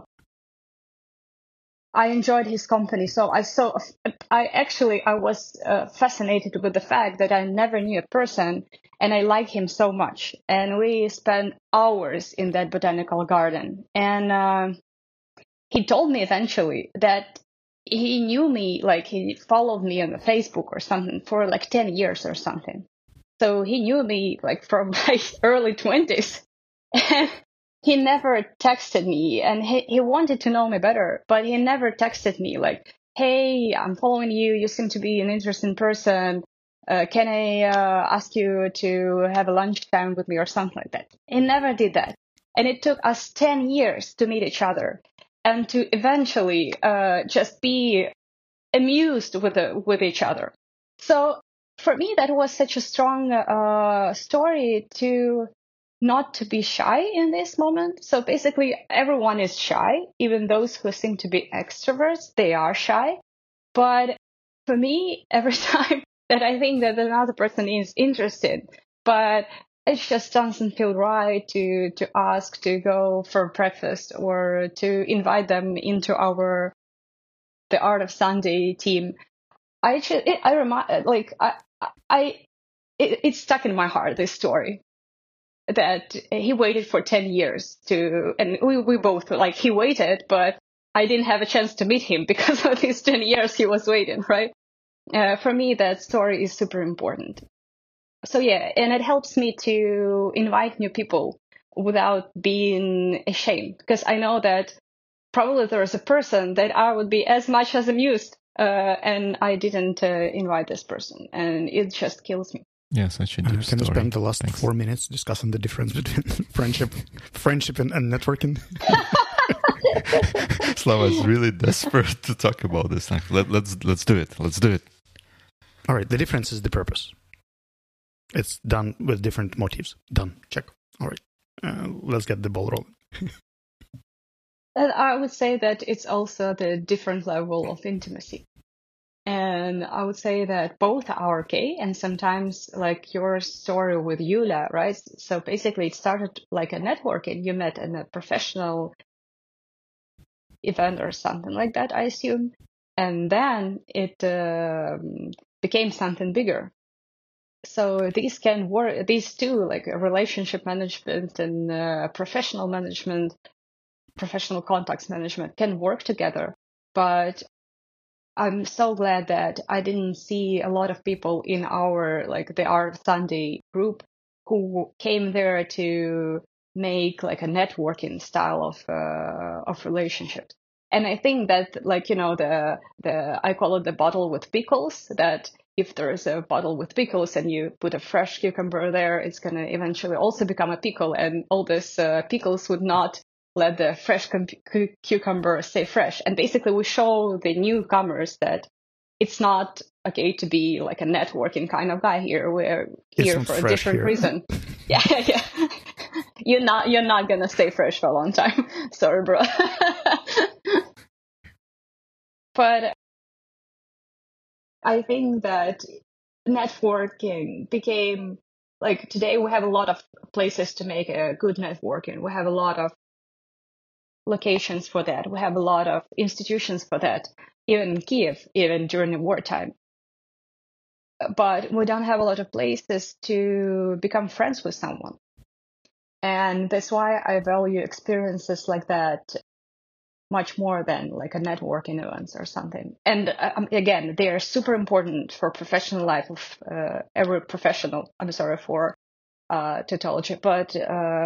I enjoyed his company. So I was fascinated with the fact that I never knew a person and I like him so much. And we spent hours in that botanical garden. And he told me eventually that he knew me, like he followed me on Facebook or something for like 10 years or something. So he knew me like from my early 20s. And he never texted me, and he wanted to know me better, but he never texted me like, hey, I'm following you. You seem to be an interesting person. Can I ask you to have a lunchtime with me or something like that? He never did that. And it took us 10 years to meet each other and to eventually just be amused with each other. So for me, that was such a strong story to not to be shy in this moment. So basically, everyone is shy, even those who seem to be extroverts, they are shy. But for me, every time that I think that another person is interested, but it just doesn't feel right to ask to go for breakfast or to invite them into the Art of Sunday team. It's stuck in my heart, this story, that he waited for 10 years and we both, like, he waited, but I didn't have a chance to meet him because of these 10 years he was waiting, right? For me, that story is super important. So yeah, and it helps me to invite new people without being ashamed, because I know that probably there is a person that I would be as much as amused, and I didn't invite this person, and it just kills me. Yeah, such a deep story. Can you spend the last 4 minutes discussing the difference between friendship and networking? Slava is really desperate to talk about this. Let's do it. Let's do it. All right. The difference is the purpose. It's done with different motives. Done. Check. All right. Let's get the ball rolling. And I would say that it's also the different level of intimacy. And I would say that both are okay. And sometimes, like your story with Yulia, right? So basically it started like a networking. You met in a professional event or something like that, I assume. And then it became something bigger. So these can work, these two, like relationship management and professional management, professional contacts management, can work together. But I'm so glad that I didn't see a lot of people in our, like, the Art Sunday group who came there to make like a networking style of relationships. And I think that, like, you know, the I call it the bottle with pickles, that if there's a bottle with pickles and you put a fresh cucumber there, it's going to eventually also become a pickle, and all this pickles would not let the fresh cucumber stay fresh. And basically we show the newcomers that it's not okay to be like a networking kind of guy here. We're here for a different reason. Yeah. You're not gonna stay fresh for a long time. Sorry, bro. But I think that networking became, like, today we have a lot of places to make a good networking. We have a lot of locations for that. We have a lot of institutions for that, even in Kiev, even during the wartime. But we don't have a lot of places to become friends with someone. And that's why I value experiences like that much more than like a networking events or something. And again, they are super important for professional life of every professional. I'm sorry for tautology, but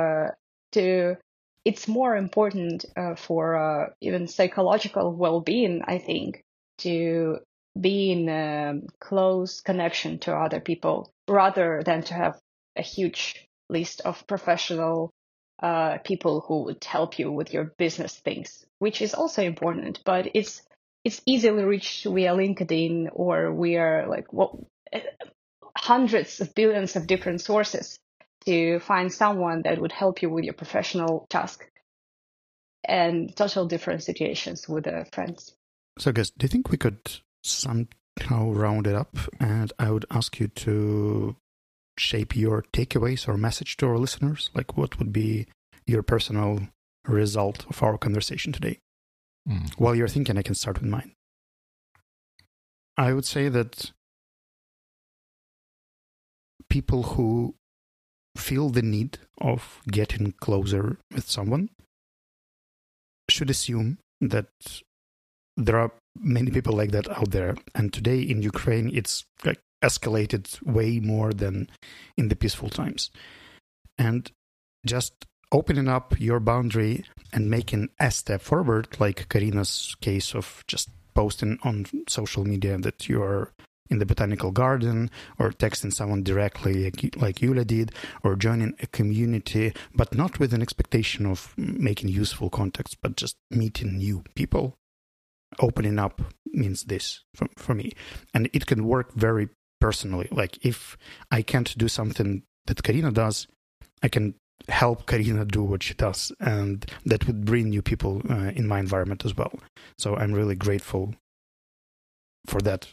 it's more important for even psychological well-being, I think, to be in close connection to other people rather than to have a huge list of professional people who would help you with your business things, which is also important, but it's easily reached via LinkedIn or via hundreds of billions of different sources to find someone that would help you with your professional task, and total different situations with friends. So guys, do you think we could somehow round it up, and I would ask you to shape your takeaways or message to our listeners? Like, what would be your personal result of our conversation today? While you're thinking, I can start with mine. I would say that people who feel the need of getting closer with someone should assume that there are many people like that out there. And today in Ukraine, it's like escalated way more than in the peaceful times. And just opening up your boundary and making a step forward, like Karina's case of just posting on social media that you're in the botanical garden, or texting someone directly like Yulia did, or joining a community, but not with an expectation of making useful contacts, but just meeting new people. Opening up means this for me. And it can work very personally. Like if I can't do something that Karina does, I can help Karina do what she does. And that would bring new people in my environment as well. So I'm really grateful for that.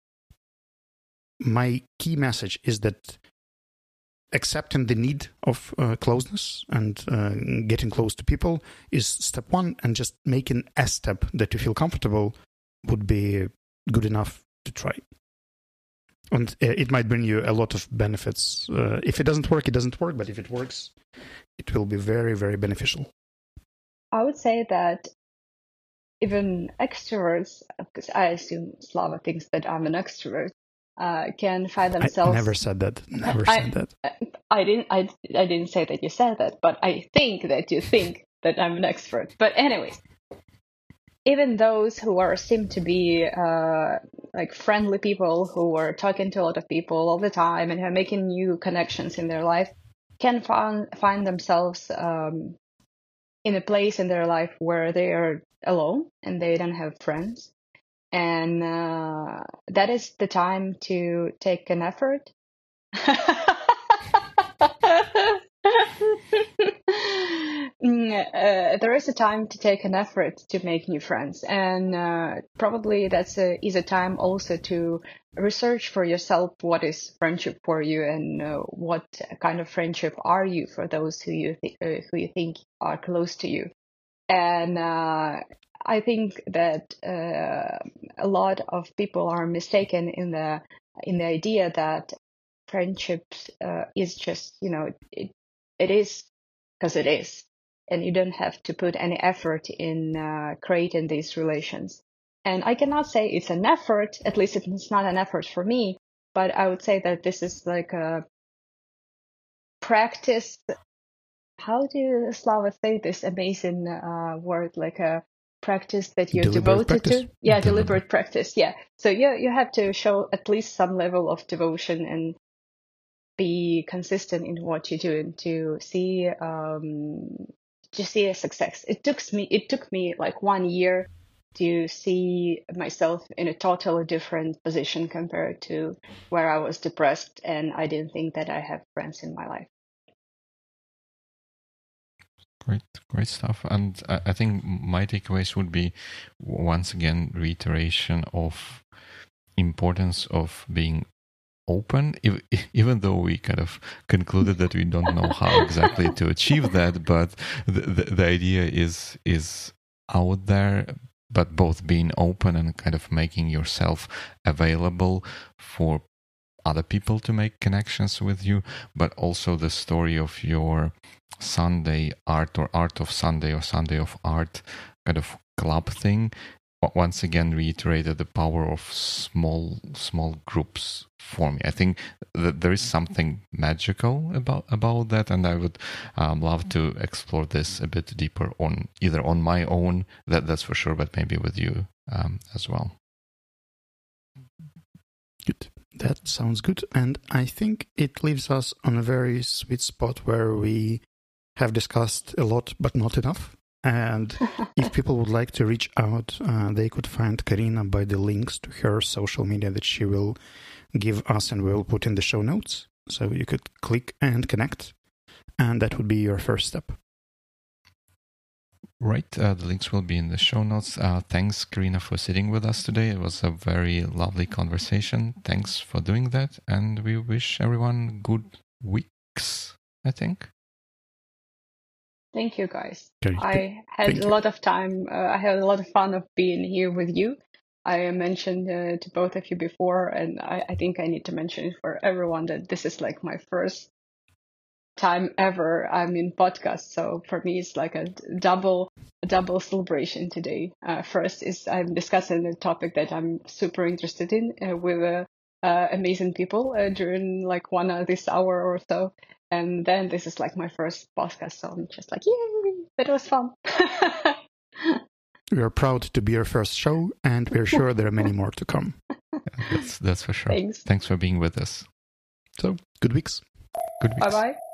My key message is that accepting the need of closeness and getting close to people is step one, and just making a step that you feel comfortable would be good enough to try. And it might bring you a lot of benefits. If it doesn't work, it doesn't work. But if it works, it will be very, very beneficial. I would say that even extroverts, because I assume Slava thinks that I'm an extrovert, can find themselves. I never said that. Never said that. I didn't say that you said that, but I think that you think that I'm an expert. But anyways, even those who seem to be like friendly people who are talking to a lot of people all the time and are making new connections in their life can find themselves in a place in their life where they are alone and they don't have friends. And that is the time to take an effort. There is a time to take an effort to make new friends, and probably that's is a time also to research for yourself what is friendship for you, and what kind of friendship are you for those who you think are close to you. And I think that a lot of people are mistaken in the idea that friendships is just, it is because it is, and you don't have to put any effort in creating these relations. And I cannot say it's an effort, at least it's not an effort for me, but I would say that this is like a practice. How do Slava say this amazing word, like a practice that you're Deliberate devoted practice? to? Yeah, deliberate practice. Yeah. So you have to show at least some level of devotion and be consistent in what you're doing to see a success. It took me like 1 year to see myself in a totally different position compared to where I was depressed, and I didn't think that I have friends in my life. Great stuff. And I think my takeaways would be, once again, reiteration of importance of being open, even though we kind of concluded that we don't know how exactly to achieve that, but the idea is out there, but both being open and kind of making yourself available for other people to make connections with you, but also the story of your Sunday art, or art of Sunday, or Sunday of art kind of club thing, once again reiterated the power of small groups for me. I think that there is something magical about that, and I would love to explore this a bit deeper either on my own, that's for sure, but maybe with you as well. Good. That sounds good. And I think it leaves us on a very sweet spot where we have discussed a lot, but not enough. And if people would like to reach out, they could find Karina by the links to her social media that she will give us and will put in the show notes. So you could click and connect, and that would be your first step. Right, the links will be in the show notes. Thanks, Karina, for sitting with us today. It was a very lovely conversation. Thanks for doing that, and we wish everyone good weeks, I think. Thank you, guys. Okay. I had a lot of time. I had a lot of fun of being here with you. I mentioned to both of you before, and I think I need to mention it for everyone, that this is like my first time ever I'm in podcast. So for me, it's like a double celebration today. First is I'm discussing a topic that I'm super interested in with amazing people during like this hour or so. And then this is like my first podcast, so I'm just like, yay, it was fun. We are proud to be your first show, and we're sure there are many more to come. That's for sure. Thanks. Thanks for being with us. So, good weeks. Good weeks. Bye-bye.